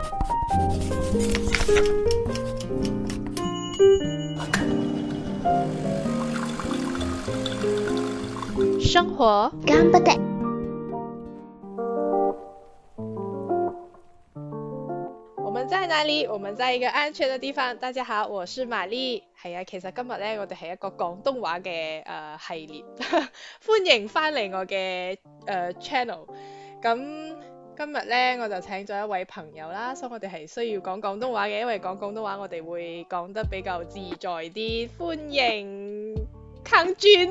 生活干不得。 我們在哪裡？我們在一個安全的地方。大家好，我是瑪麗。係啊，其實今日咧，我哋係一個廣東話嘅系列，歡迎翻嚟我嘅channel。咁今日咧，我就請咗一位朋友啦，所以我哋係需要講廣東話嘅，因為講廣東話我哋會講得比較自在啲。歡迎康俊。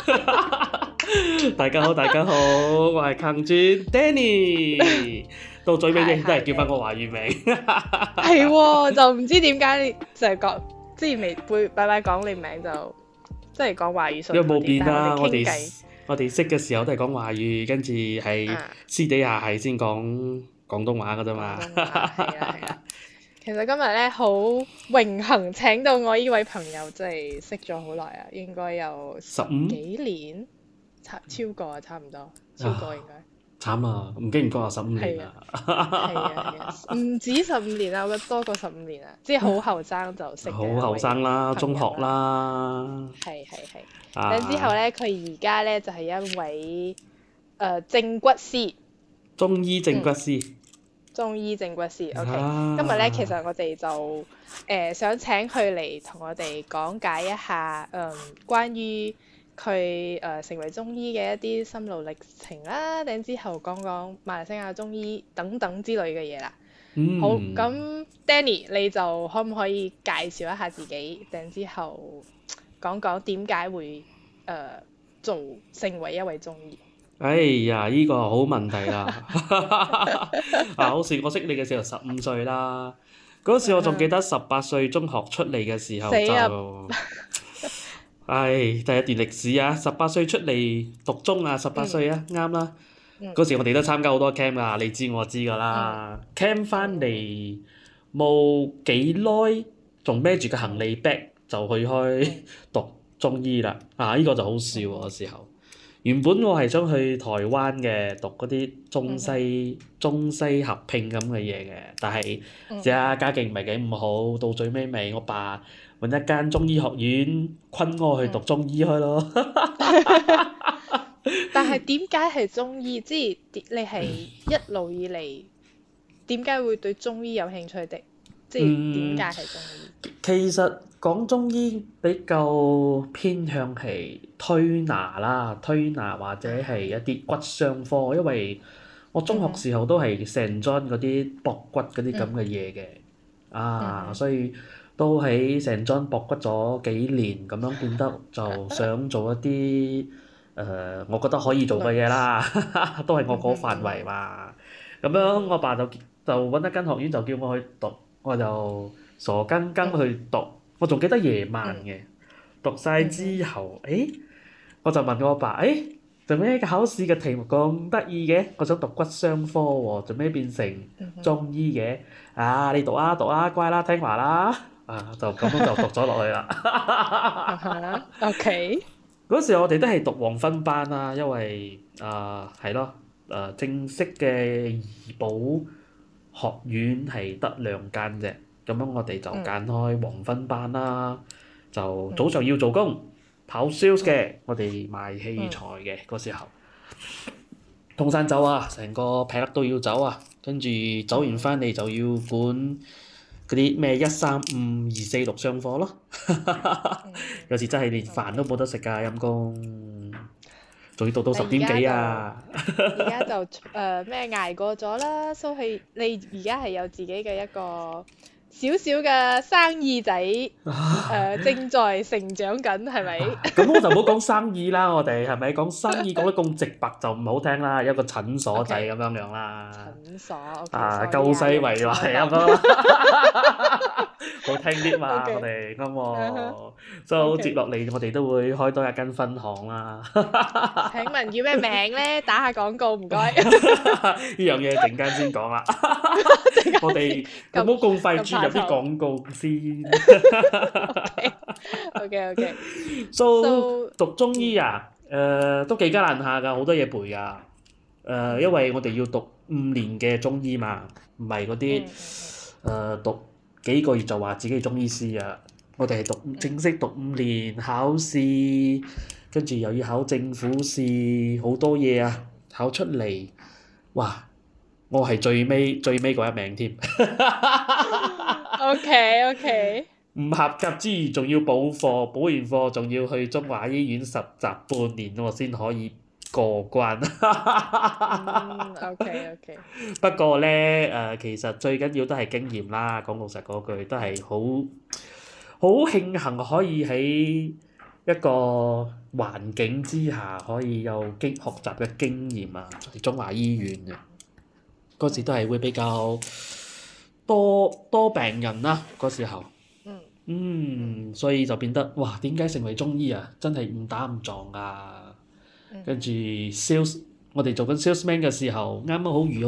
大家好，大家好，我係鏗尊 Danny，到最尾你都係叫翻個華語名。 係喎，就唔知點解你就係講之前未會擺擺講你名就即係講華語順啲， 因為冇變啦， 我哋傾偈我哋識嘅時候都係講華語，跟住係私底下係先講廣東話噶啫嘛。 係啦係啦。其實今日咧好榮幸請到我呢位朋友，即係識咗好耐啊，應該有 15 幾年，超過啊，差唔多，超過應該。 慘啊！唔經唔覺啊，15年啦。 係啊，唔止15年啦，我覺得多過15年啊，即係好後生就識嘅。 好後生啦，中學啦。 係。然之後咧，佢而家咧就係一位正骨師， 中醫正骨師。 中醫正骨師，OK。今日咧，其實我哋就想請佢嚟同我哋講解一下關於佢成為中醫嘅一啲心路歷程啦，然之後講講馬來西亞中醫等等之類嘅嘢啦。好，咁 Danny 你就可唔可以介紹一下自己，然之後講講點解會成為一位中醫？ 哎呀，呢個好問題啦！好似我識你嘅時候15歲啦，嗰時我仲記得18歲中學出嚟嘅時候就，第一段歷史啊！18歲出嚟讀中啊，18歲啊，啱啦。嗰時我哋都參加好多 camp 㗎，你知我知㗎啦。camp 翻嚟冇幾耐，仲孭住個行李 bag 就去開讀中醫啦。呢個就好笑喎，嗰時候。原本我係想去台灣嘅讀嗰啲中西合併咁嘅嘢嘅，但係家境唔係幾咁好，到最尾我爸揾一間中醫學院昆我去讀中醫開咯。 但係點解係中醫？即係你係一路以嚟點解會對中醫有興趣的？即係點解係中醫？ 其實講中醫比較偏向係推拿或者係一啲骨傷科，因為我中學時候都係成 John 嗰啲駁骨嗰啲咁嘅嘢嘅，所以都喺成 John 駁骨咗幾年，咁樣變得就想做一啲我覺得可以做嘅嘢啦，都係我嗰範圍嘛。咁樣我爸就揾一間學院就叫我去讀，我就傻更更去讀。我仲記得夜晚嘅，讀晒之後，我就問我爸，做咩考試嘅題目咁得意嘅？我想讀骨傷科喎，做咩變成中醫嘅？你讀啊，乖啦，聽話啦，就咁樣就讀咗落去啦。 OK。 嗰時我哋都係讀黃分班啦，因為係咯，正式嘅醫保學院係得2間啫。咁樣我哋就揀開黃分班啦，就早上要做工，跑 sales 嘅，我哋賣器材嘅嗰時候，通山走啊，成個劈粒都要走啊，跟住走完翻嚟就要管嗰啲咩135、246上課咯，有時真係連飯都冇得食㗎，陰公，仲要讀到10點幾啊！ 而家就咩捱過咗啦，所以你而家係有自己嘅一個少少嘅生意仔，正在成長緊，係咪？ 咁我就唔好講生意啦，我哋係咪講生意講得咁直白就唔好聽啦，有個診所仔咁樣樣啦。 診所救世為懷咁樣，好聽啲嘛，我哋啱喎。所以接落嚟我哋都會開多一間分行啦。 請問叫咩名咧？打下廣告唔該。 呢樣嘢陣間先講啦。我哋唔好咁快注入啲廣告先。 OK。 So 讀中醫啊，都幾艱難下㗎，好多嘢背㗎。因為我哋要讀 5年嘅中醫嘛，唔係嗰啲讀幾個月就話自己係中醫師啊。我哋係正式讀5年，考試，跟住又要考政府試，好多嘢啊！考出嚟，哇！我係最尾嗰一名添。 OK， 唔合格之餘，仲要補課，補完課仲要去中華醫院實習半年，我先可以過關。 OK。 不過咧，其實最緊要都係經驗啦。講老實嗰句，都係好慶幸可以喺一個環境之下可以有學習嘅經驗啊！喺中華醫院嘅嗰時都係會比較多病人啦，嗰時候。所以就變得哇，點解成為中醫啊？真係誤打誤撞啊！跟住 sales，我哋做緊 salesman 嘅時候，啱啱好遇到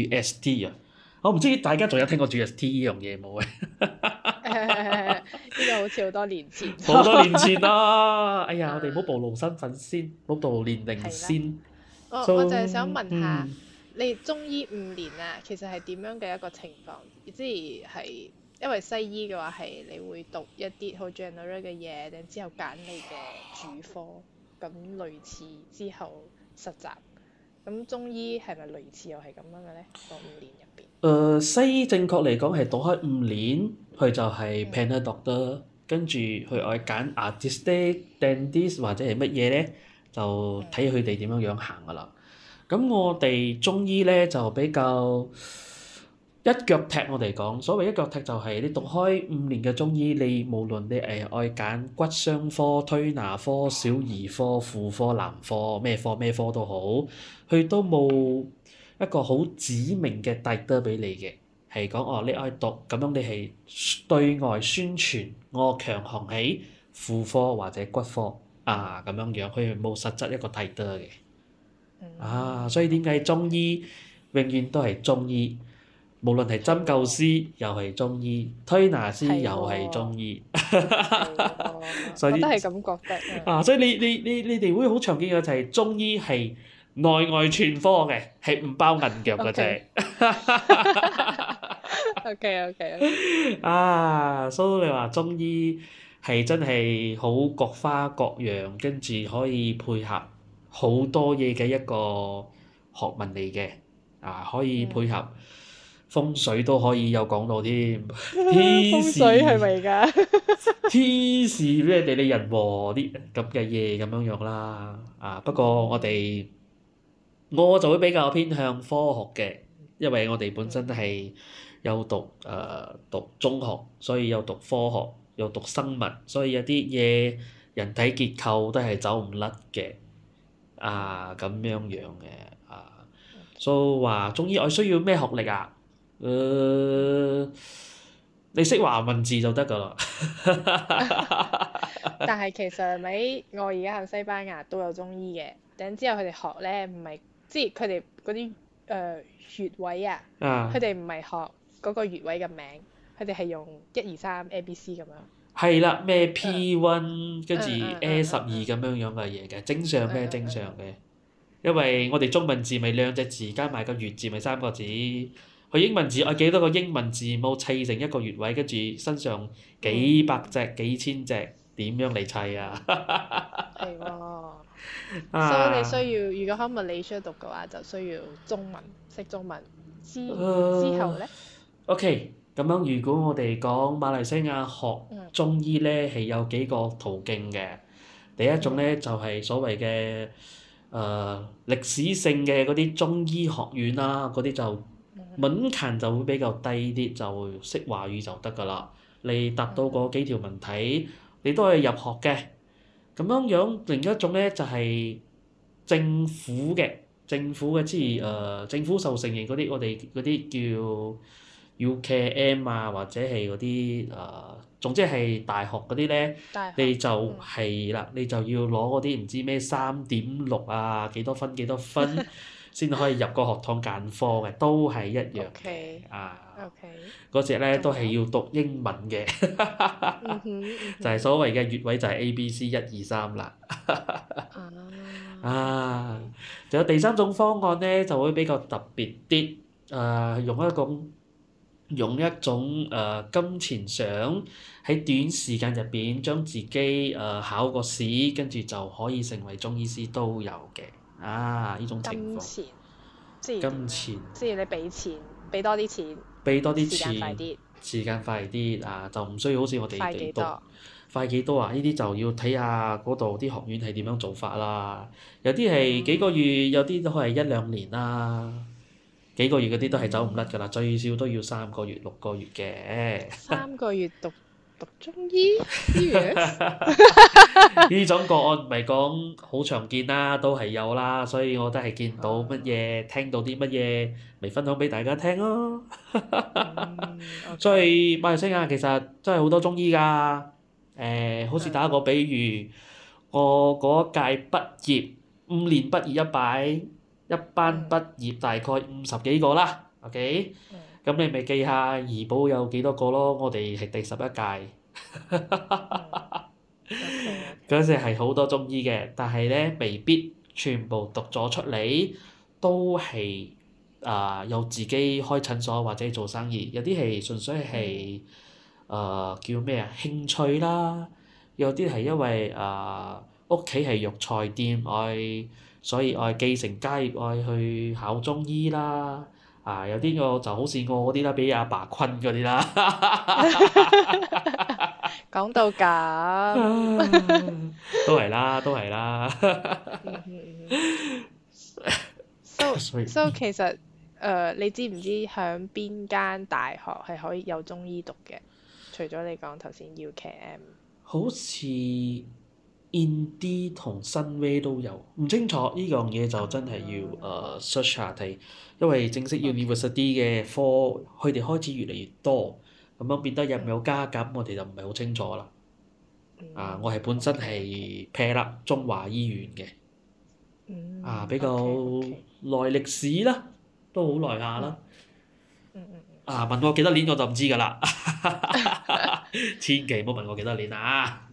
GST 啊！我唔知大家仲有聽過 GST 呢樣嘢冇嘅？ 呢個好似好多年前。 好多年前啦！哎呀，我哋唔好暴露身份先，唔好暴露年齡先。 我就係想問下，你中醫5年啊，其實係點樣嘅一個情況？即係因為西醫嘅話係你會讀一啲好 general 嘅嘢，然之後揀你嘅主科，咁類似之後實習。咁中醫係咪類似又係咁樣嘅咧？個5年入邊。 西醫正確嚟講係讀開5年，佢就係 panel doctor，跟住佢愛揀 artist、dentist 或者係乜嘢咧，就睇佢哋點樣行噶啦。咁我哋中醫咧就比較一腳踢，我哋講所謂一腳踢就係你讀開5年嘅中醫，你無論你愛揀骨傷科、推拿科、小兒科、婦科、男科咩科都好，佢都冇一個好指明嘅 title 俾你嘅，係講你愛讀咁樣，你係對外宣傳我強項喺婦科或者骨科咁樣樣，佢冇實質一個 title 嘅。所以點解中醫永遠都係中醫？無論係針灸師又係中醫，推拿師又係中醫。所以我都係咁覺得。 所以你哋會好常見嘅就係中醫係內外全科嘅，係唔包銀腳嘅啫。 OK。 所以你話中醫係真係好各花各樣，跟住可以配合好多嘢嘅一個學問嚟嘅。可以配合風水都可以有講到添。 風水係咪㗎？ 天時咩地利人和啲咁嘅嘢咁樣樣啦。不過我就會比較偏向科學嘅，因為我哋本身係有讀中學，所以有讀科學，有讀生物，所以有啲嘢人體結構都係走唔甩嘅。咁樣樣嘅。所以話中醫我需要咩學歷啊？你識華文字就得㗎啦。 但係其實咪我而家喺西班牙都有中醫嘅，然之後佢哋學咧唔係，即係佢哋嗰啲穴位啊，佢哋唔係學嗰個穴位嘅名，佢哋係用1、2、3 ABC 咁樣。 係啦，咩 P1 跟住 A12咁樣樣嘅嘢嘅，正常嘅。因為我哋中文字咪2隻字加埋個穴字咪3個字，佢英文字我幾多個英文字母砌成一個穴位，跟住身上幾百隻、幾千隻，點樣嚟砌啊？ 係喎。所以你需要，如果喺物理書讀嘅話，就需要中文，識中文之後咧。 OK，咁樣如果我哋講馬來西亞學中醫咧，係有幾個途徑嘅。第一種咧就係所謂嘅歷史性嘅嗰啲中醫學院啦，嗰啲就門檻就會比較低啲，就識華語就得㗎啦。你答到嗰幾條問題，你都可以入學嘅。咁樣樣另一種咧就係政府嘅即係政府受承認嗰啲，我哋嗰啲叫UKM 或者係嗰啲總之係大學嗰啲咧，你就係啦，你就要攞嗰啲唔知咩3.6幾多分先可以入個學堂揀科嘅，都係一樣嘅。 OK 啊， OK， 嗰隻咧都仲係有要讀英文嘅，就係哼， 所謂嘅粵位就係 ABC 1 2 3啦。啊， OK， 仲有第三種方案咧就會比較特別啲，用一種金錢上喺短時間入邊將自己考個試，跟住就可以成為中醫師都有嘅。呢種情況， 金錢即係點樣？ 金錢即係你俾錢，俾多啲錢， 俾多啲時間快錢， 啲， 時間快啲就唔需要好似我哋快哋讀幾多？ 快幾多啊？呢啲就要睇下嗰度啲學院係點樣做法啦。有啲係幾個月，有啲都係1 2 年啦。幾個月嗰啲都係走唔甩㗎啦，最少都要3 個月、6 個月嘅。 3 個月讀中醫 serious？ 呢種個案唔係講好常見啦，都係有啦，所以我都係見到乜嘢，聽到啲乜嘢，咪分享俾大家聽咯。所以馬來西亞其實真係好多中醫㗎。好似打個比喻，我嗰屆畢業5 年畢業一班畢業大概50幾個啦，OK？咁你咪記下怡保有幾多個咯？我哋係第11屆。嗰陣係好多中醫嘅，但係咧未必全部讀咗出嚟都係有自己開診所或者做生意，有啲係純粹係叫咩啊興趣啦，有啲係因為屋企係藥材店，所以繼承家業去考中醫啦。有啲個就好似我嗰啲啦，俾阿爸困嗰啲啦。 講到咁， 都係啦，都係啦。 So 其實你知唔知響邊間大學係可以有中醫讀嘅？除咗你講頭先 UKM， 好似 Indy 同新威都有，唔清楚呢樣嘢就真係要search 下睇，因為正式 university 嘅科佢哋開始越嚟越多，咁樣變得有冇加減，我哋就唔係好清楚啦。我係本身係 pair 啦，中華醫院嘅，比較耐歷史啦，都好耐下啦。問我幾多年我就唔知㗎啦，千祈唔好問我幾多年啊。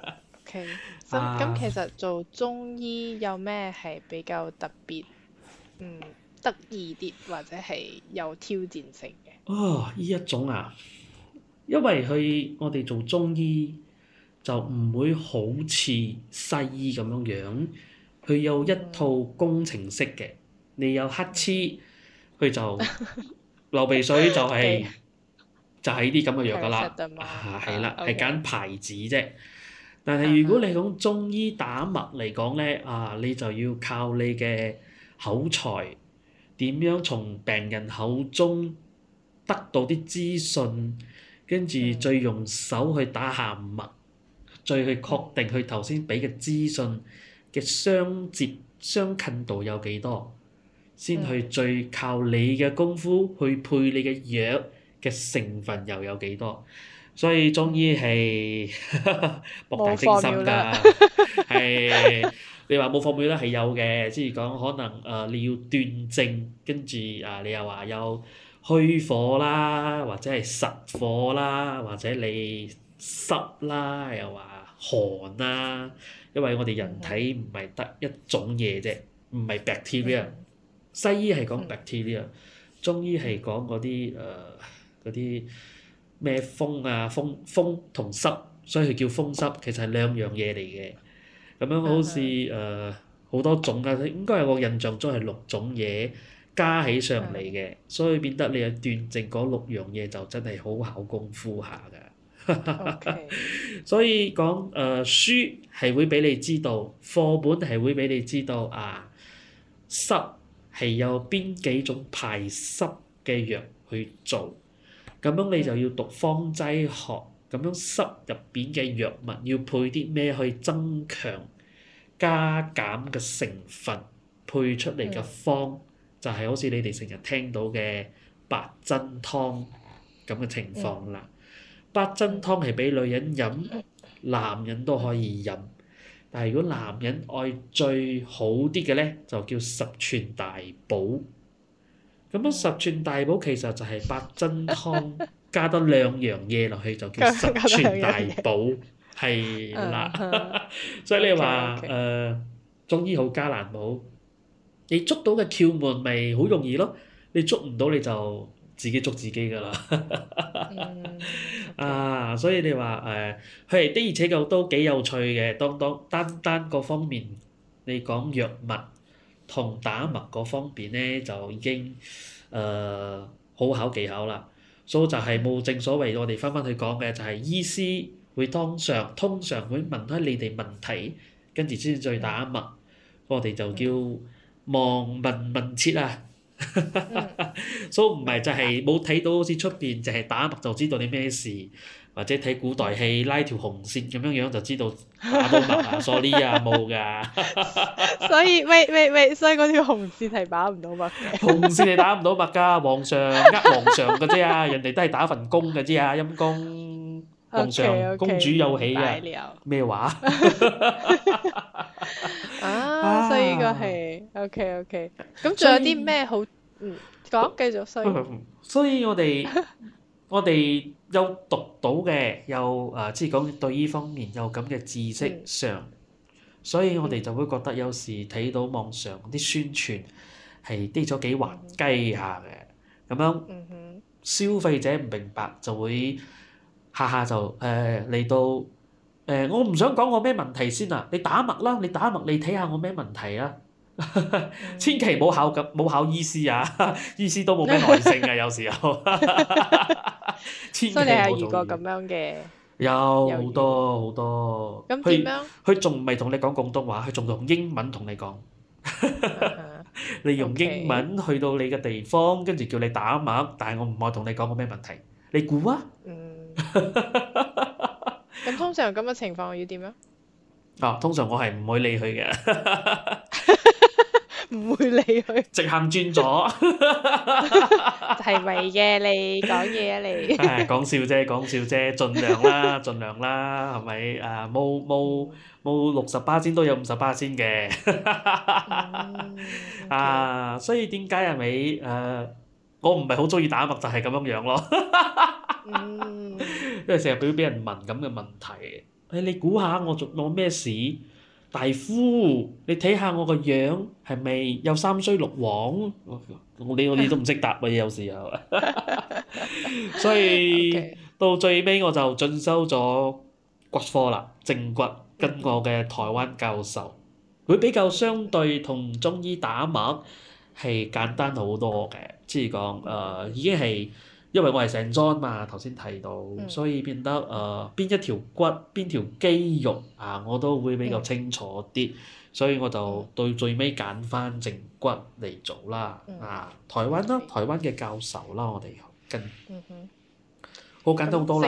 OK，咁其實做中醫有咩係比較特別，得意啲或者係有挑戰性嘅？ 呢一種因為我哋做中醫就唔會好似西醫咁樣樣，佢有一套工程式嘅，你有乞嗤，佢就流鼻水就係啲咁嘅藥㗎啦。係啦，係揀牌子啫。但係如果你講中醫打脈嚟講咧，你就要靠你嘅口才，點樣從病人口中得到啲資訊，跟住再用手去打下脈，再去確定佢頭先俾嘅資訊嘅相近度有幾多，先去最靠你嘅功夫去配你嘅藥嘅成分又有幾多。所以中醫係博大精深㗎，係你話冇formula係有嘅，即係講可能你要斷症，跟住你又話有虛火啦，或者係實火啦，或者你濕啦，又話寒啦，因為我哋人體唔係得一種嘢啫，唔係 bacteria。西醫係講 bacteria，中醫係講嗰啲咩風同濕，所以佢叫風濕，其實係2樣嘢嚟嘅。咁樣好似好多種應該係我印象中係6種嘢加起上嚟嘅，所以變得你係斷症嗰6樣嘢就真係好考功夫下㗎。所以講書係會俾你知道，課本係會俾你知道濕係有邊幾種排濕嘅藥去做。咁樣你就要讀方劑學，咁樣濕入邊嘅藥物要配啲咩去增強、加減嘅成分，配出嚟嘅方就係好似你哋成日聽到嘅八珍湯咁嘅情況啦。八珍湯係俾女人飲，男人都可以飲。 但係如果男人愛最好啲嘅咧，就叫十全大補。咁樣十全大補其實就係八珍湯加多兩樣嘢落去，就叫十加多全大兩樣嘢。 補，係啦。所以你 OK 話 OK。 中醫好加難冇？你捉到嘅竅門咪好容易咯，你捉唔到你就自己捉自己㗎啦。 OK。 所以你話佢係的而且確都幾有趣嘅。單個方面，你講藥物同打脈嗰方面咧，就已經好考技巧啦。所以就係冇正所謂我哋翻去講嘅，就係醫師會通常會問開你哋問題，跟住先再打脈。我哋就叫望聞問切啊。所以唔係就係冇睇到好似出邊就係打脈就知道你咩事，或者睇古代戲拉條紅線咁樣就知道打到脈啊，sorry 啊冇㗎。 所以喂，所以嗰條紅線係打唔到脈嘅。 紅線你打唔到脈㗎，皇上皇上嘅啫啊，人哋都係打份工嘅啫啊，陰公皇上 OK 公 OK， 主有喜明白啊， 了。 咩話？ 所以呢個啊！ 係 OK OK。咁仲所有啲以咩好？講繼續衰。 所以我哋有讀到嘅，有即係講對呢方面有咁嘅知識上，所以我哋就會覺得有時睇到網上啲宣傳係啲咗幾滑稽下嘅，咁樣消費者唔明白就會下下就嚟到我唔想講我咩問題先啊，你打脈啦，你打脈你睇下我咩問題啊。千祈唔好冇考醫師啊，醫師都冇咩耐性啊，有時候。千祈所以你唔好做醫。 係遇過咁樣嘅有好猶豫？ 多好多，佢咁點樣？ 佢仲唔係同你講廣東話，佢仲用英文同你講。你用英 OK。 文去到你嘅地方，跟住叫你打脈，但係我唔愛同你講個咩問題，你估啊？ 咁通常咁嘅情況要點樣？ 通常我係唔會理佢嘅， 唔會理佢。 直行轉左。 係咪嘅？你講嘢啊你。 講笑啫，講笑啫，盡量啦，盡量啦，係咪？冇60%都有50%嘅。所以點解係咪我唔係好中意打脈就係咁樣樣咯。因為成日俾人問咁嘅問題，你估下我咩事？大夫，你睇下我個樣係咪有三衰六旺？我都唔識答嘅，有時候。所以到最尾我就進修咗骨科啦，正骨，跟我嘅台灣教授，會比較相對同中醫打脈係簡單好多嘅，即係講已經係因為我係成莊嘛，頭先提到，所以變得邊一條骨邊條肌肉我都會比較清楚啲，所以我就到最尾揀翻正骨嚟做啦。台灣啦，台灣嘅教授啦，我哋跟好簡單好多啦。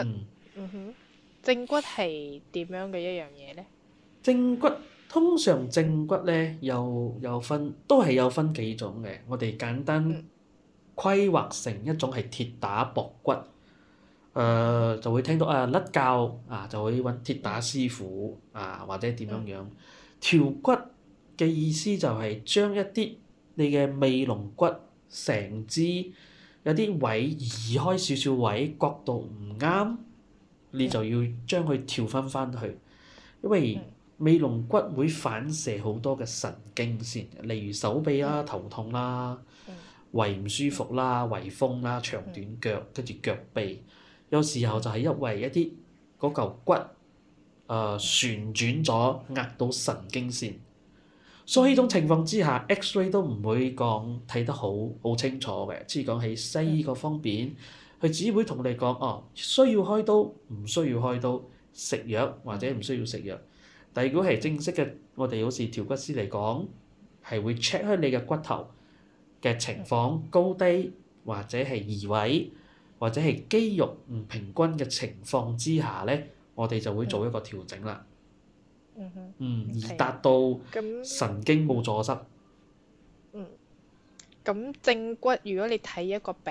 正骨係點樣嘅一樣嘢呢？ 通常正骨咧有分，都係有分幾種嘅。我哋簡單規劃成一種係鐵打膊骨，就會聽到甩骹就會揾鐵打師傅或者點樣樣。調骨嘅意思就係將一啲你嘅尾龍骨成支有啲位移開少少位，角度唔啱，你就要將佢調翻去，因為尾龍骨會反射好多嘅神經線，例如手臂啦、頭痛啦、胃唔舒服啦、胃風啦、長短腳，跟住腳臂，有時候就係因為一啲嗰嚿骨旋轉咗壓到神經線，所以呢種情況之下，X-ray 都唔會講睇得好清楚嘅，即係講喺西醫嗰方面，佢只會同你講需要開刀，唔需要開刀，食藥或者唔需要食藥。但如果係正式嘅，我哋好似調骨師嚟講，係會 check 開你嘅骨頭嘅情況高低，或者係移位，或者係肌肉唔平均嘅情況之下咧，我哋就會做一個調整啦。而達到神經冇阻塞。 咁正骨如果你睇一個病人，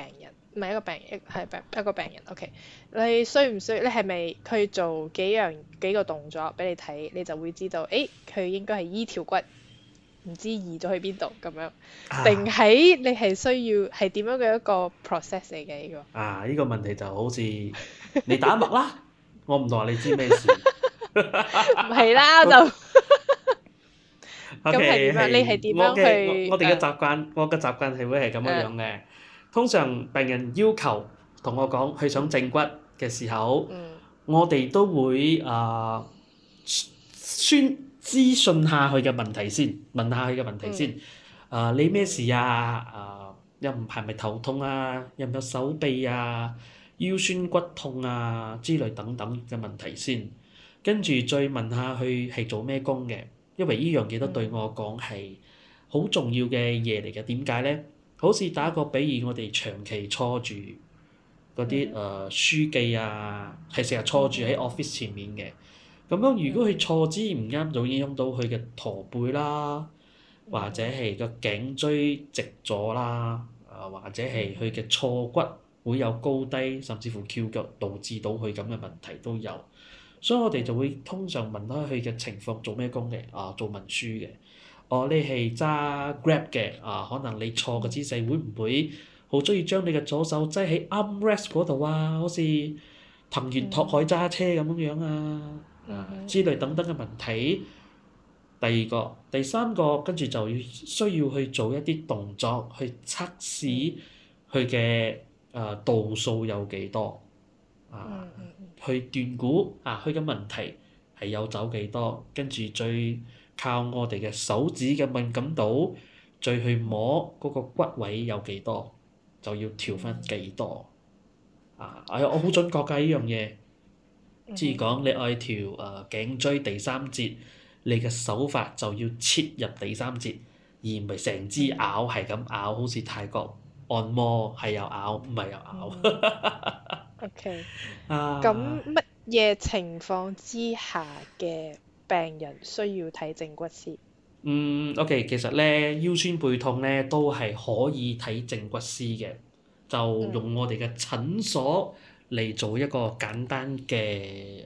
唔係一個病人，係一個病人。OK，你需唔需要？你係咪佢做幾個動作俾你睇，你就會知道，誒佢應該係依條骨，唔知移咗去邊度咁樣，定啊係你係需要係點樣嘅一個 process 嚟嘅呢個？ 呢個問題就好似你打脈啦，我唔同你知咩事。 唔係啦，就咁係 O.K. 點樣？你係點樣去我哋嘅習慣，我嘅習慣係會係咁樣樣嘅。通常病人要求同我講佢想正骨嘅時候，我哋都會先諮詢下佢嘅問題先，問下佢嘅問題先。你咩事啊？又唔係咪頭痛啊？有唔有手臂啊、腰酸骨痛啊之類等等嘅問題先，跟住再問下佢係做咩工嘅，因為呢樣嘢都對我講係好重要嘅嘢嚟嘅。點解咧？好似打個比喻，我哋長期坐住嗰啲書記啊，係成日坐住喺 office 前面嘅。咁樣如果佢坐姿唔啱，就會影響到佢嘅駝背啦，或者係個頸椎直咗啦，或者係佢嘅錯骨會有高低，甚至乎翹腳導致到佢咁嘅問題都有。所以我哋就會通常問開佢嘅情況，做咩工嘅？做文書嘅。你係揸 Grab 嘅，可能你坐嘅姿勢會唔會好中意將你嘅左手擠喺 armrest 嗰度啊？好似藤原拓海揸車咁樣樣之類等等嘅問題。第二個、第三個，跟住就需要去做一啲動作去測試佢嘅度數有幾多，去斷估佢嘅問題係有走幾多，跟住再靠我哋嘅手指嘅敏感度，再去摸嗰個骨位有幾多，就要調翻幾多。我好準確㗎呢樣嘢。即係講你愛調頸椎第三節，你嘅手法就要切入第三節，而唔係成支咬係咁咬，好似泰國按摩係又咬，唔係又咬。 OK，咁乜嘢情況之下嘅病人需要睇正骨師 ？OK，其實咧腰酸背痛咧都係可以睇正骨師嘅，就用我哋嘅診所嚟做一個簡單嘅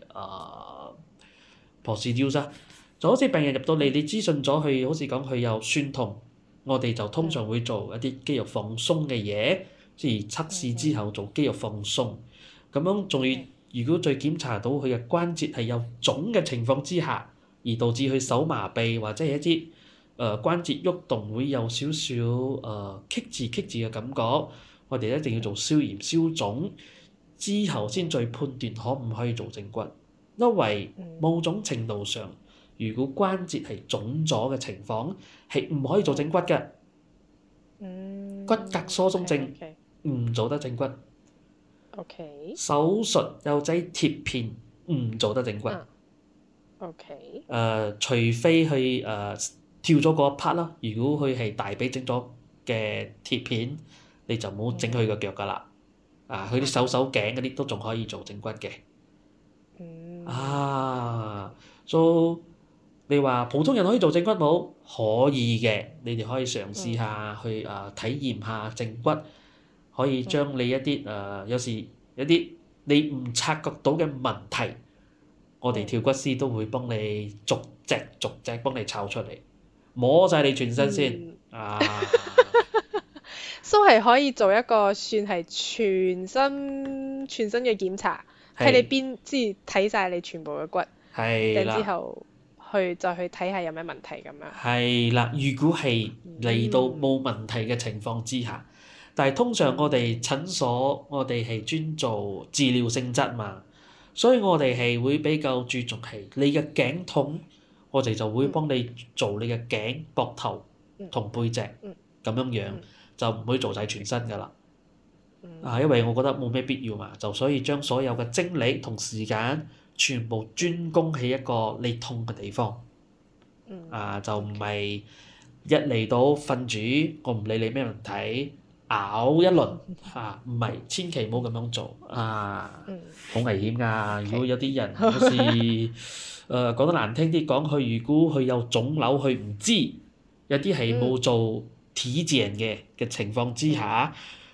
procedure 啦。就好似病人入到嚟，你諮詢咗佢，好似講佢有酸痛，我哋就通常會做一啲肌肉放鬆嘅嘢，即係測試之後做肌肉放鬆。咁樣仲要，如果再檢查到佢嘅關節係有腫嘅情況之下，而導致佢手麻痹或者係一啲關節喐動會有少少棘住嘅感覺，我哋一定要做消炎消腫之後先再判斷可唔可以做正骨，因為某種程度上，如果關節係腫咗嘅情況，係唔可以做正骨嘅。骨骼疏鬆症唔做得正骨。手術有劑貼片唔做得正骨。除非佢跳咗嗰一 part 啦，如果佢係大髀整咗嘅貼片，你就唔好整佢個腳㗎啦。佢啲手頸嗰啲都仲可以做正骨嘅。你話普通人可以做正骨冇？可以嘅，你哋可以嘗試下去體驗下正骨，可以將你一啲有時有啲你唔察覺到嘅問題，我哋跳骨師都會幫你逐隻幫你摷出嚟，摸晒你全身先。 都係可以做一個算係全身嘅檢查，睇你邊即係睇晒你全部嘅骨，然之後再去睇下有咩問題咁樣。 係啦，如果係嚟到冇問題嘅情況之下，但係通常我哋診所我哋係專做治療性質嘛，所以我哋係會比較注重係你嘅頸痛，我哋就會幫你做你嘅頸、膊頭同背脊咁樣樣，就唔會做晒全身㗎啦。因為我覺得冇咩必要嘛，就所以將所有嘅精力同時間全部專攻喺一個你痛嘅地方。就唔係一嚟到瞓住，我唔理你咩問題，咬一輪唔係，千祈唔好咁樣做好危險㗎。如果有啲人好似講得難聽啲講，佢如果佢有腫瘤，佢唔知，有啲係冇做體檢嘅情況之下，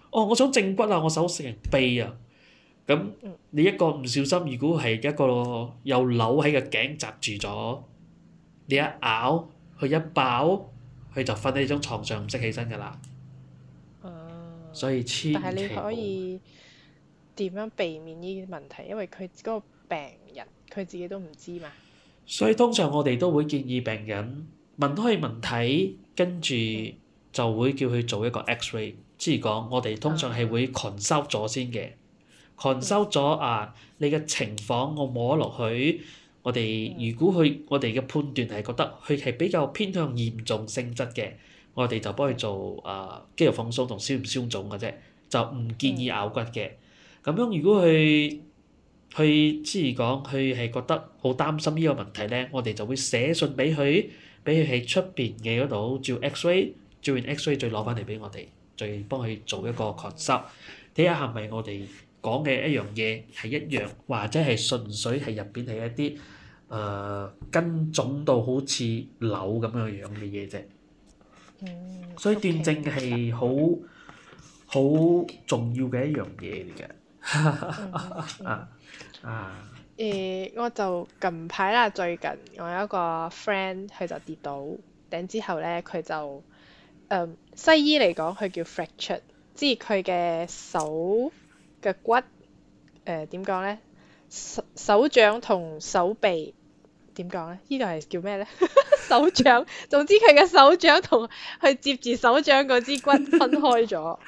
哦，我想正骨啊，我手成臂啊。咁嗯你一個唔小心，如果係一個有瘤喺個頸紮住咗，你一咬佢一爆，佢就瞓喺張床上唔識起身㗎啦。所以但係千你可祈冇。 以點樣避免呢啲問題？因為佢嗰個病人佢自己都唔知嘛。 所以通常我哋都會建議病人問開問題，跟住嗯就會叫佢做一個 X-ray。即係講我哋通常係會 consult 咗先嘅嗯 ，consult 咗啊你嘅情況，我摸落去，我哋嗯如果我哋嘅判斷係覺得佢係比較偏向嚴重性質嘅，我哋就幫佢做肌肉放鬆同消唔消腫嘅啫，就唔建議咬骨嘅。咁樣如果佢之前講佢係覺得好擔心呢個問題咧，我哋就會寫信俾佢，俾佢喺出邊嘅嗰度照 X-ray，照完 X-ray 再攞翻嚟俾我哋，再幫佢做一個 consult，睇下係咪我哋講嘅一樣嘢係一樣，或者係純粹係入邊係一啲根腫到好似瘤咁樣樣嘅嘢啫。所以斷症 OK，明白。 係好重要嘅一樣嘢嚟嘅。啊啊！ 我就近排啦，最近我有一個 friend 佢就跌倒，頂之後咧佢就西醫嚟講佢叫 fracture，即係佢嘅手嘅骨點講咧？手掌同手臂點講咧？呢個係叫咩咧？手掌，總之佢嘅手掌同佢接住手掌嗰支骨分開咗，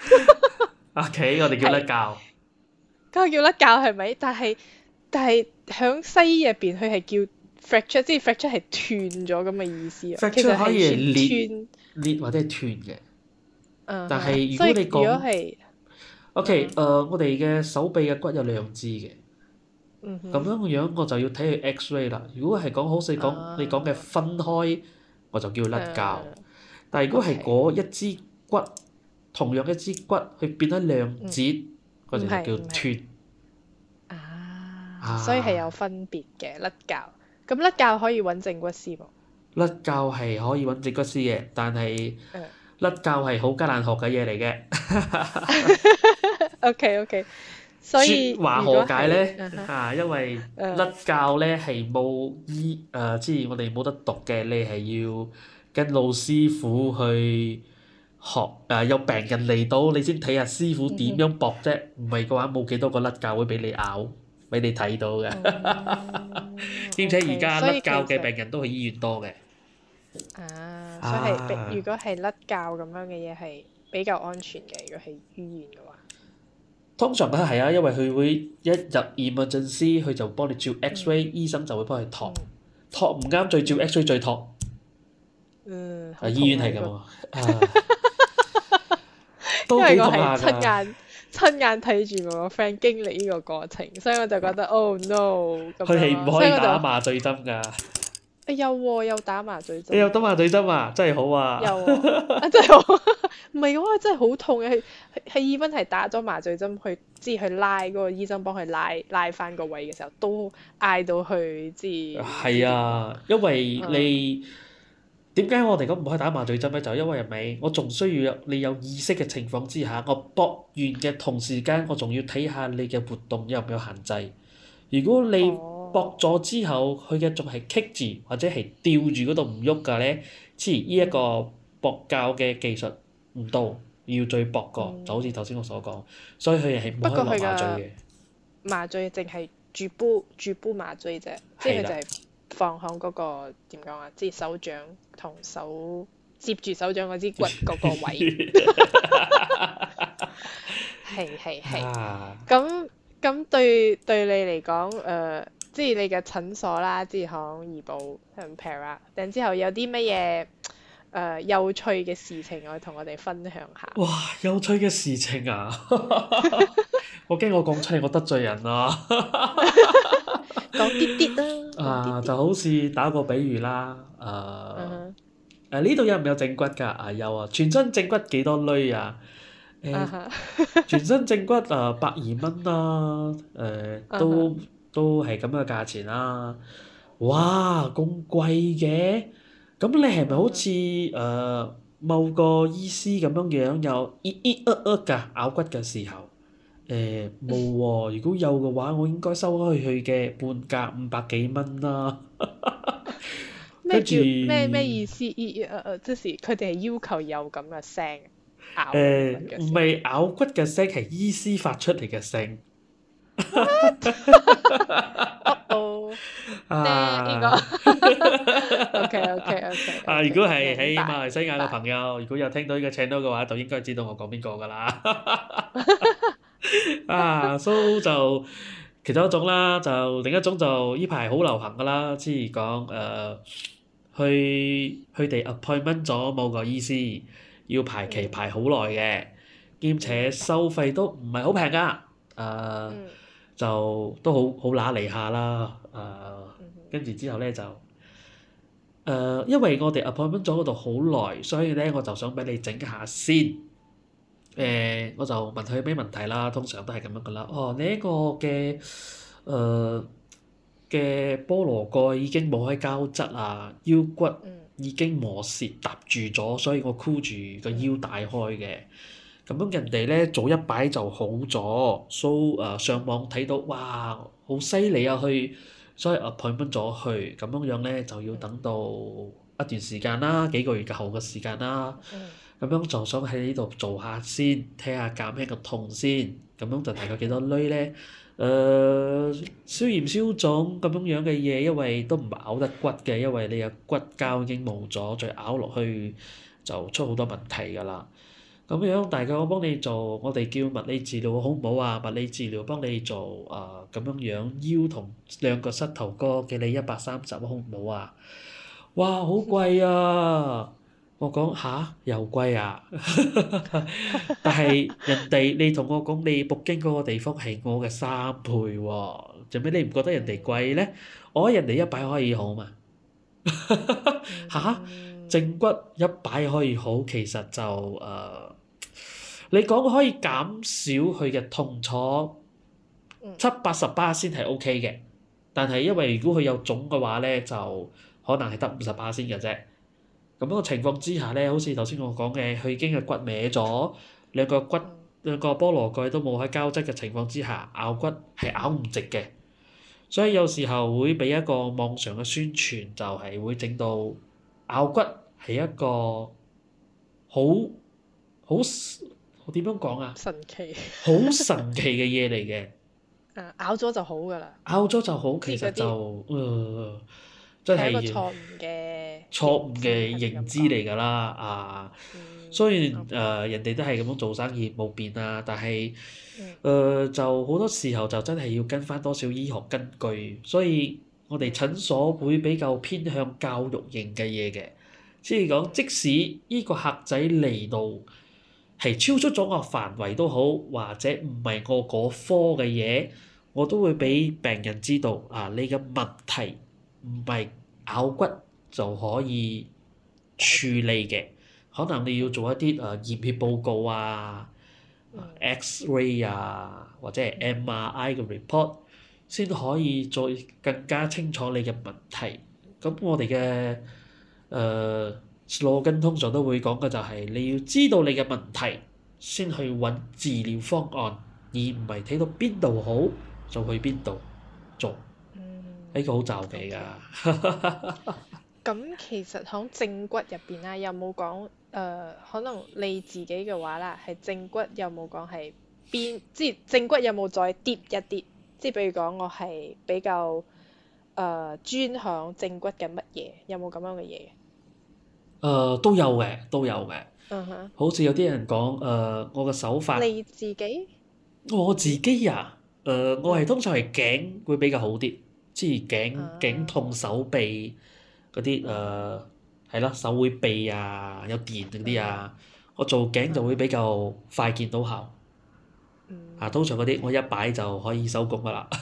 OK，我哋叫甩係骹。 嗰個叫甩骹係咪？但係響西醫入邊佢係叫 fracture，即係 fracture 係斷咗咁嘅意思啊。其實 fracture 可以係係算裂或者係斷嘅，但斷， 係如果你所以如果講係 OK，我哋嘅手臂嘅骨有兩支嘅，咁樣樣我就要睇佢 X-ray 啦。如果係講好似講你講嘅分開，我就叫甩骹。但係如果係 OK， 嗰一支骨，同樣一支骨，佢變咗兩節，我哋就唔係叫斷。 所以係有啊， 分別嘅甩骹。咁甩骹可以揾正骨師喎。 甩骹係可以揾正骨師嘅，但係嗯甩骹係好艱難學嘅嘢嚟嘅。 OK，所以説話如果何解係咧？因為甩嗯骹咧係冇即係我哋冇得讀嘅，你係要跟老師傅去學有病人嚟到，你先睇下師傅點樣駁啫。唔係嘅話，冇幾多個甩骹會俾你咬，俾你睇到嘅。兼且而 OK， 家所以其甩骹嘅實病人都喺醫院多嘅。 所以係啊， 如果係甩骹咁樣嘅嘢係比較安全嘅，如果係醫院嘅話。 通常都係啊，因為佢會一入 emergency，佢就幫你照 X-ray，醫生就會幫你托，托唔啱再照 X-ray 再托。 好醫院痛啊！呢個， 係咁啊，都因為我幾痛下係親㗎。 眼睇住我個 friend 經歷呢個過程，所以我就覺得 oh no 咁佢係樣咯， 唔可以所以我就打麻醉針㗎。 有喎，有打麻醉針喎， 你有打麻醉針啊？真係好啊！ 有喎，真係好，唔係嘅話真係好痛嘅，係 even 係打咗麻醉針去，即係去拉嗰個醫生幫佢拉翻個位嘅時候，都嗌到去，即係唔知係點講。 啊，因為你點解我哋講唔可以打麻醉針咧？就因為係咪我仲需要你有意識嘅情況之下，我搏完嘅同時間，我仲要睇下你嘅活動有唔有限制。如果你搏咗之後，佢嘅仲係棘住或者係吊住嗰度唔喐㗎咧，即係呢一個搏教嘅技術唔到，要再搏過，就好似頭先我所講，所以佢係唔可以落不過佢嘅麻醉嘅。 麻醉淨係注煲麻醉啫，即係係啦， 佢就係放響嗰個點講啊，即係手掌同接住手掌嗰支骨嗰個位。係。 啊， 咁對你嚟講，即係你嘅診所啦，即係響怡保同 Para，然之後有啲乜嘢有趣嘅事情，可以同我哋分享下。 哇！有趣嘅事情啊，我驚我講出嚟我得罪人啊。 講啲啲啦，講啲啲。 就好似打個比喻啦，呢度有唔有正骨㗎？有啊，全身正骨幾多鐳啊？全身正骨120蚊啦，都係咁嘅價錢啦。哇，咁貴嘅？咁你係咪好似某個醫師咁樣樣有㗎咬骨嘅時候，冇喎。如果有嘅話，我應該收開佢嘅半價500幾蚊啦。跟住咩意思？即是佢哋係要求有咁嘅聲咬你骨嘅時候。 唔係咬骨嘅聲，係醫師發出嚟嘅聲。 哦，呢個啊 OK， 啊！如果係明白喺馬來西亞嘅明白。 朋友，如果有聽到呢個 channel 嘅話，就應該知道我講邊個㗎啦。So 就其中一種啦，就另一種就呢排好流行㗎啦，即係講佢哋 appointment 咗某個醫師，要排期排好耐嘅，兼且收費都唔係好平㗎，就都好揦脷下啦，跟住之後咧就因為我哋 appointment 咗嗰度好耐，所以咧我就想俾你整下先。我就問佢咩問題啦，通常都係咁樣噶啦。哦，你呢個嘅嘅菠蘿蓋已經冇開膠質啊，腰骨已經磨蝕搭住咗，所以我箍住個腰帶開嘅。咁樣人哋咧早一擺就好咗，so 上網睇到哇好犀利啊，所以 appointment 咗去，咁樣樣咧就要等到一段時間啦，幾個月後嘅時間啦。咁樣就想喺呢度做下先，睇下減輕個痛先。咁樣就大概幾多鐳咧？消炎消腫咁樣樣嘅嘢，因為都唔係咬得骨嘅，因為你嘅骨膠已經冇咗，再咬落去就出好多問題㗎啦。咁樣大概我幫你做，我哋叫物理治療好唔好啊？物理治療幫你做咁樣樣腰同兩個膝頭哥嘅你130好唔好啊？哇！好貴啊！我講吓，又貴啊！但係人哋你同我講你北京嗰個地方係我嘅3倍喎，做咩你唔覺得人哋貴咧？我覺得人哋一擺可以好嘛？吓？正骨一擺可以好，其實就你講可以減少佢嘅痛楚70-80%先係 OK 嘅，但係因為如果佢有腫嘅話咧，就可能係得50%先嘅啫。咁樣嘅情況之下咧，好似頭先我講嘅，佢已經係骨歪咗，兩個菠蘿蓋都冇喺膠質嘅情況之下，咬骨係咬唔直嘅，所以有時候會俾一個網上嘅宣傳，就係會整到咬骨係一個好點樣講啊？ 神奇。 好神奇嘅嘢嚟嘅。 咬咗就好㗎啦。 咬咗就好，其即係嗰實就真係一個係錯誤嘅認知嚟㗎啦。雖然人哋都係咁樣做生意冇變啊，但係就好多時候就真係要跟翻多少醫學根據，所以我哋診所會比較偏向教育型嘅嘢嘅，即係講即使呢個客仔嚟到係超出咗我範圍都好，或者唔係我嗰科嘅嘢，我都會俾病人知道你嘅問題唔係咬骨就可以處理嘅，可能你要做一啲驗血報告X-ray 或者係 MRI 嘅 report 先可以再更加清楚你嘅問題。咁我哋嘅slogan通常都會講嘅就係你要知道你嘅問題，先去揾治療方案，而唔係睇到邊度好就去邊度做。呢個好罩忌㗎。 咁其實喺正骨入邊啦，有冇講可能你自己嘅話啦，係正骨有冇講係邊？即係正骨有冇再 deep 一啲？即係比如講我係比較專響正骨嘅乜嘢？有冇咁樣嘅嘢？ 都有嘅，都有嘅。好似有啲人講我嘅手法。 你自己？ 我自己我係通常係頸會比較好啲，即係頸痛手臂嗰啲係啦，手會痹有電嗰啲我做頸就會比較快見到效。通常嗰啲我一擺就可以收工㗎啦。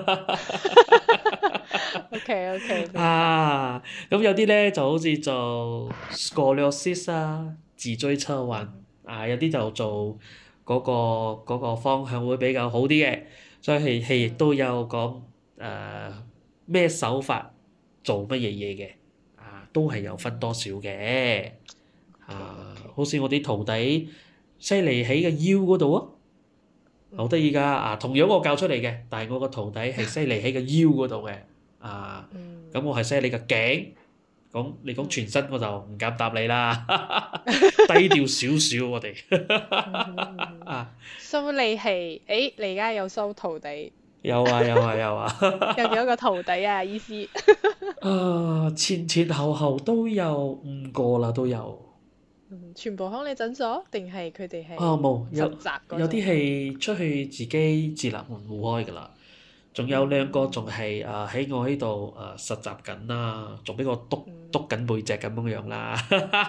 OK， 咁有啲咧就好似做 scoliosis 脊椎側彎有啲就做嗰個方向會比較好啲嘅，所以係亦都有講咩手法做乜嘢嘢嘅都係有分多少嘅好似我啲徒弟犀利喺個腰嗰度啊，好得意㗎。同樣我教出嚟嘅，但係我個徒弟係犀利喺個腰嗰度嘅。咁我係犀利個頸。你講全身我就唔敢答你啦，低調少少我哋。 So 你係你而家有收徒弟？ 有啊有啊有啊！ 有幾多個徒弟啊？醫師？ 前前後後都有5個啦，都有。 全部喺你診所定係佢哋係冇， 實習嗰種？ 有啲係出去自己自立門戶開㗎啦，仲有2個仲係喺我呢度實習緊啦，仲俾我督緊背脊咁樣啦。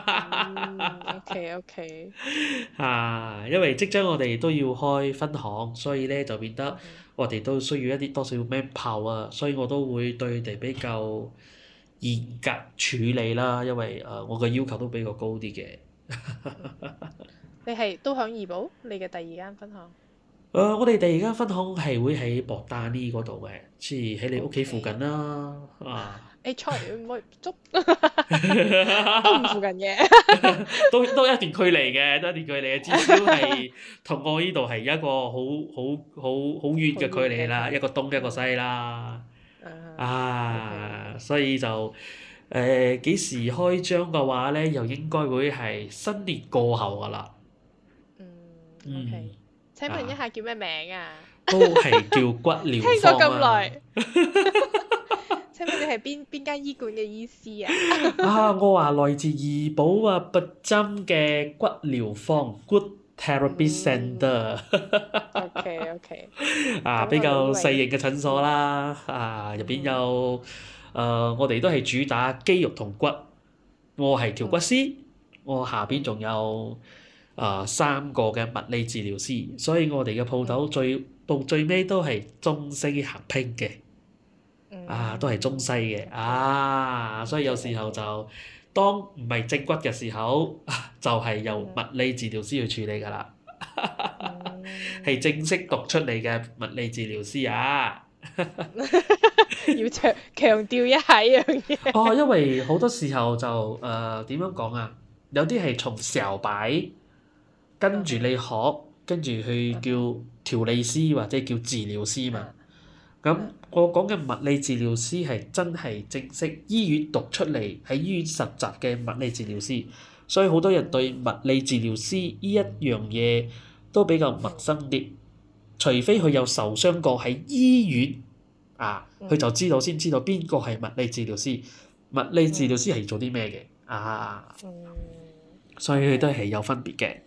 OK。 因為即將我哋都要開分行，所以咧就變得我哋都需要一啲多少 manpower 啊，所以我都會對佢哋比較嚴格處理啦，因為我嘅要求都比較高啲嘅。 你係都響怡保？你嘅第2間分行？ 我哋第2間分行係會喺博大呢嗰度嘅，即係喺你屋企附近啦。 sorry，唔可以捉，都唔附近嘅。 都一段距離嘅，都一段距離嘅，至少係同我呢度係一個好遠嘅距離啦，一個東一個西啦。所以就幾時開張嘅話咧，又應該會係新年過後㗎啦。 OK。請問一下叫咩名啊？ 都係叫骨療聽坊咗咁耐。請問你係邊間醫館嘅醫師啊？ 我話來自怡保拔針嘅骨療坊 Good Therapy Centre。 OK。 比較細型嘅診所啦。入邊有我哋都係主打肌肉同骨。我係調骨師，我下邊仲有3個嘅物理治療師，所以我哋嘅鋪頭到最尾都係中西合拼嘅。都係中西嘅。所以有時候就當唔係正骨嘅時候，就係由物理治療師去處理㗎啦。係正式讀出嚟嘅物理治療師啊！ 要強調一下呢樣嘢。 因為好多時候就點樣講啊？有啲係從小擺跟住你學，跟住去叫調理師或者叫治療師嘛。咁我講嘅物理治療師係真係正式醫院讀出嚟喺醫院實習嘅物理治療師，所以好多人對物理治療師呢一樣嘢都比較陌生啲，除非佢有受傷過喺醫院佢就先知道邊個係物理治療師，物理治療師係做啲咩嘅所以佢都係有分別嘅。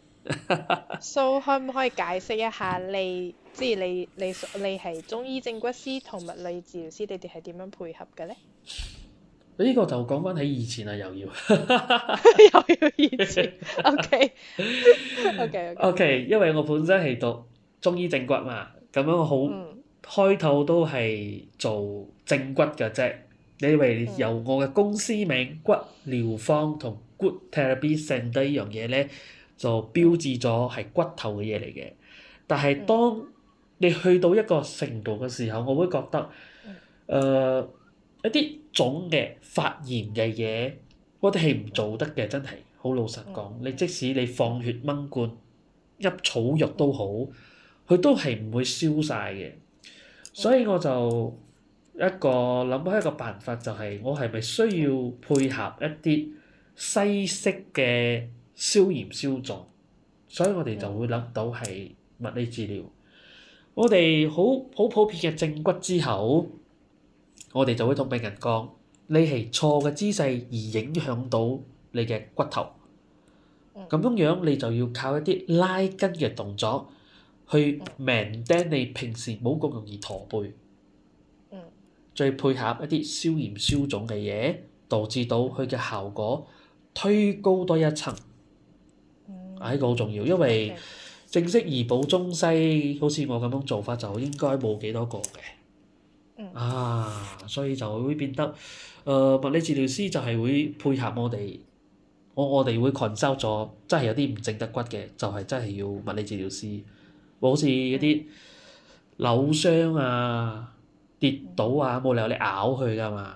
So 可唔可以解釋一下即係你係中醫正骨師同物理治療師，你哋係點樣配合嘅咧？ 呢個就講翻起以前啦，又要又要以前。OK， 因為我本身係讀中醫正骨嘛，咁樣我開頭都係做正骨嘅啫。你以為由我嘅公司名骨療坊同 Good Therapy Centre 呢樣嘢咧，就標誌咗係骨頭嘅嘢嚟嘅。但係當你去到一個程度嘅時候，我會覺得一啲總嘅發炎嘅嘢，我哋係唔做得嘅，真係好老實講。你即使你放血掹罐、入草藥都好，佢都係唔會消晒嘅。所以我就諗開一個辦法，就係我係咪需要配合一啲西式嘅消炎消腫？所以我哋就會諗到係物理治療。我哋好普遍嘅正骨之後，我哋就會同病人講：你係錯嘅姿勢而影響到你嘅骨頭。咁樣你就要靠一啲拉筋嘅動作去 maintain 你平時冇咁容易駝背。再配合一啲消炎消腫嘅嘢，導致到佢嘅效果推高多一層。呢個好重要，因為正式怡保中西，好似我咁樣做法就應該冇幾多個嘅。所以就會變得物理治療師就係會配合我哋，我哋會 consult 咗，真係有啲唔正得骨嘅，就係真係要物理治療師。好似一啲扭傷跌倒啊，冇理由你咬佢噶嘛，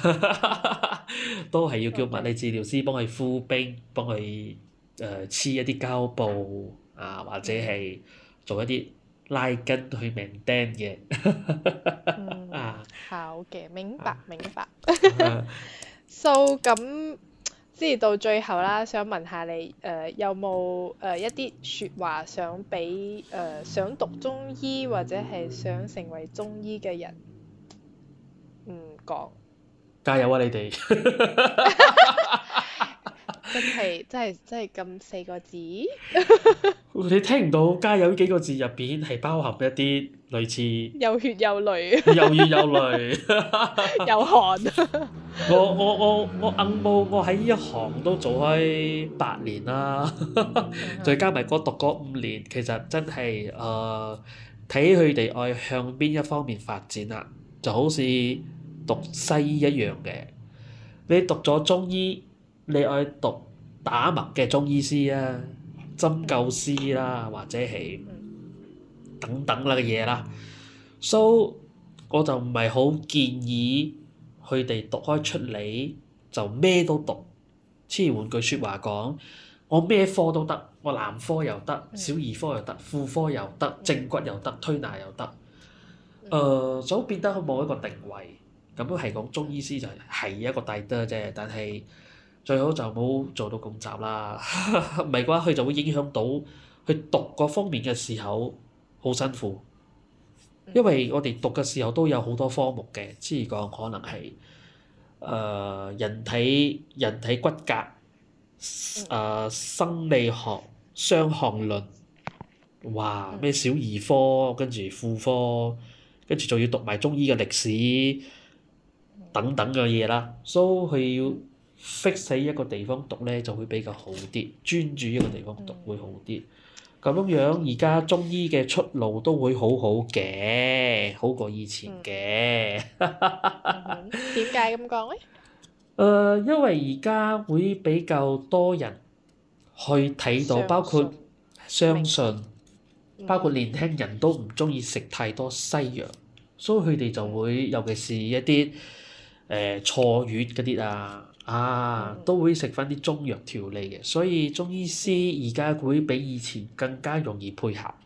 都係要叫物理治療師幫佢敷冰，幫佢黐一啲膠布啊，或者係做一啲拉筋去 maintain 嘅。啊， 好嘅，明白明白。 啊 So 咁，即係到最後啦，想問下你有冇一啲説話想俾想讀中醫或者係想成為中醫嘅人講？ 加油啊你哋！ 真係咁4個字？ 你聽唔到加油呢幾個字入邊係包含一啲類似有血有淚， 有血有淚。 有汗。 我硬冇，我喺呢一行都做開8年啦，再加埋嗰讀嗰5年，其實真係睇佢哋愛向邊一方面發展啦，就好似讀西醫一樣嘅。你讀咗中醫，你愛讀打脈嘅中醫師啊，針灸師啦，或者係等等啦嘅嘢啦。So 我就唔係好建議佢哋讀開出嚟就咩都讀。即係換句説話講，我咩科都得，我男科又得，小兒科又得，婦科又得，正骨又得，推拿又得。就變得冇一個定位。咁都係講中醫師就係一個大得啫，但係最好就冇做到咁雜啦。唔係嘅話，佢就會影響到佢讀嗰方面嘅時候好辛苦。因為我哋讀嘅時候都有好多科目嘅，即係講可能係人體骨骼、生理學、傷寒論，哇咩小兒科，跟住婦科，跟住仲要讀埋中醫嘅歷史等等嘅嘢啦，所以佢要 fix 喺一個地方讀咧就會比較好啲，專注一個地方讀會好啲。咁樣而家中醫嘅出路都會好好嘅，好過以前嘅。 點解咁講咧？ 因為而家會比較多人去睇到，包括相信，包括年輕人都唔中意食太多西藥，所以佢哋就會，尤其是一啲坐月嗰啲都會食翻啲中藥調理嘅，所以中醫師而家會比以前更加容易配合。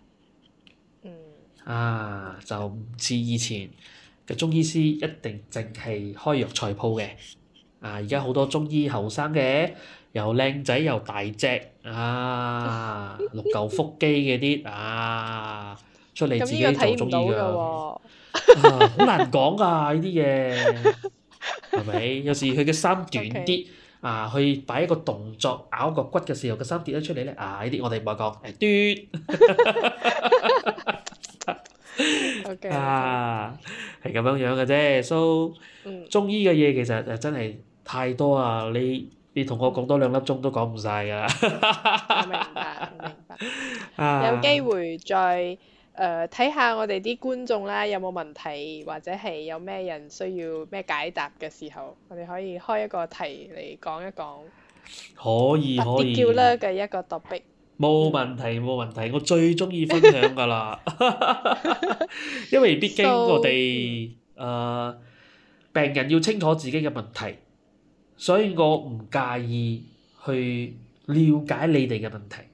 就唔似以前嘅中醫師一定淨係開藥材鋪嘅。而家好多中醫後生嘅，又靚仔又大隻六嚿腹肌嗰啲出嚟自己做中醫㗎。好難講㗎呢啲嘢，係咪？有時佢嘅衫短啲去擺一個動作咬個骨嘅時候，個衫跌咗出嚟咧呢啲我哋唔係講係咁樣樣嘅啫。So 中醫嘅嘢其實真係太多啊！你同我講多2粒鐘都講唔晒㗎啦。 我明白。有機會再睇下我哋啲觀眾啦，有冇問題或者係有咩人需要咩解答嘅時候，我哋可以開一個題嚟講一講。 可以。 particular嘅一個 topic。 冇問題，我最中意分享㗎啦。因為畢竟我哋病人要清楚自己嘅問題，所以我唔介意去了解你哋嘅問題。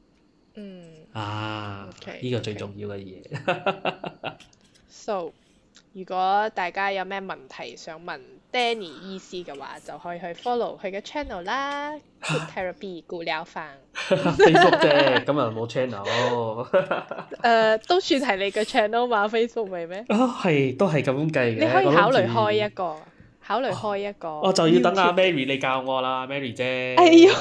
呢個最重要嘅嘢。 So 如果大家有咩問題想問 Danny 醫師嘅話，就可以去 follow 佢嘅 channel 啦。Good Therapy 顧療房。 Facebook 啫，咁又冇 channel。 都算係你嘅 channel 嘛 ，Facebook 咪咩？ 係，都係咁計嘅。 你可以考慮開一個。 我就要等阿 Mary 你教我啦，Mary 姐。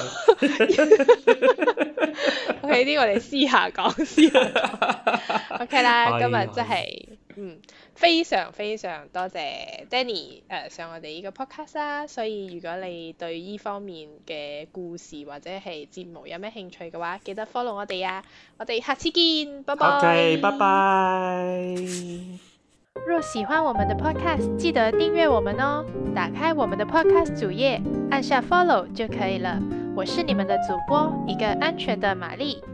OK， 呢個我哋私下講。OK 啦，今日真係非常非常多謝 Danny 上我哋呢個 podcast 啦。所以如果你對呢方面嘅故事或者係節目有咩興趣嘅話，記得 follow 我哋啊！我哋下次見，拜拜。 OK，拜拜。 若喜歡我們的 podcast，記得訂閱我們哦。打開我們的 podcast 主頁，按下 follow 就可以了。我是你們的主播，一個安全的瑪麗。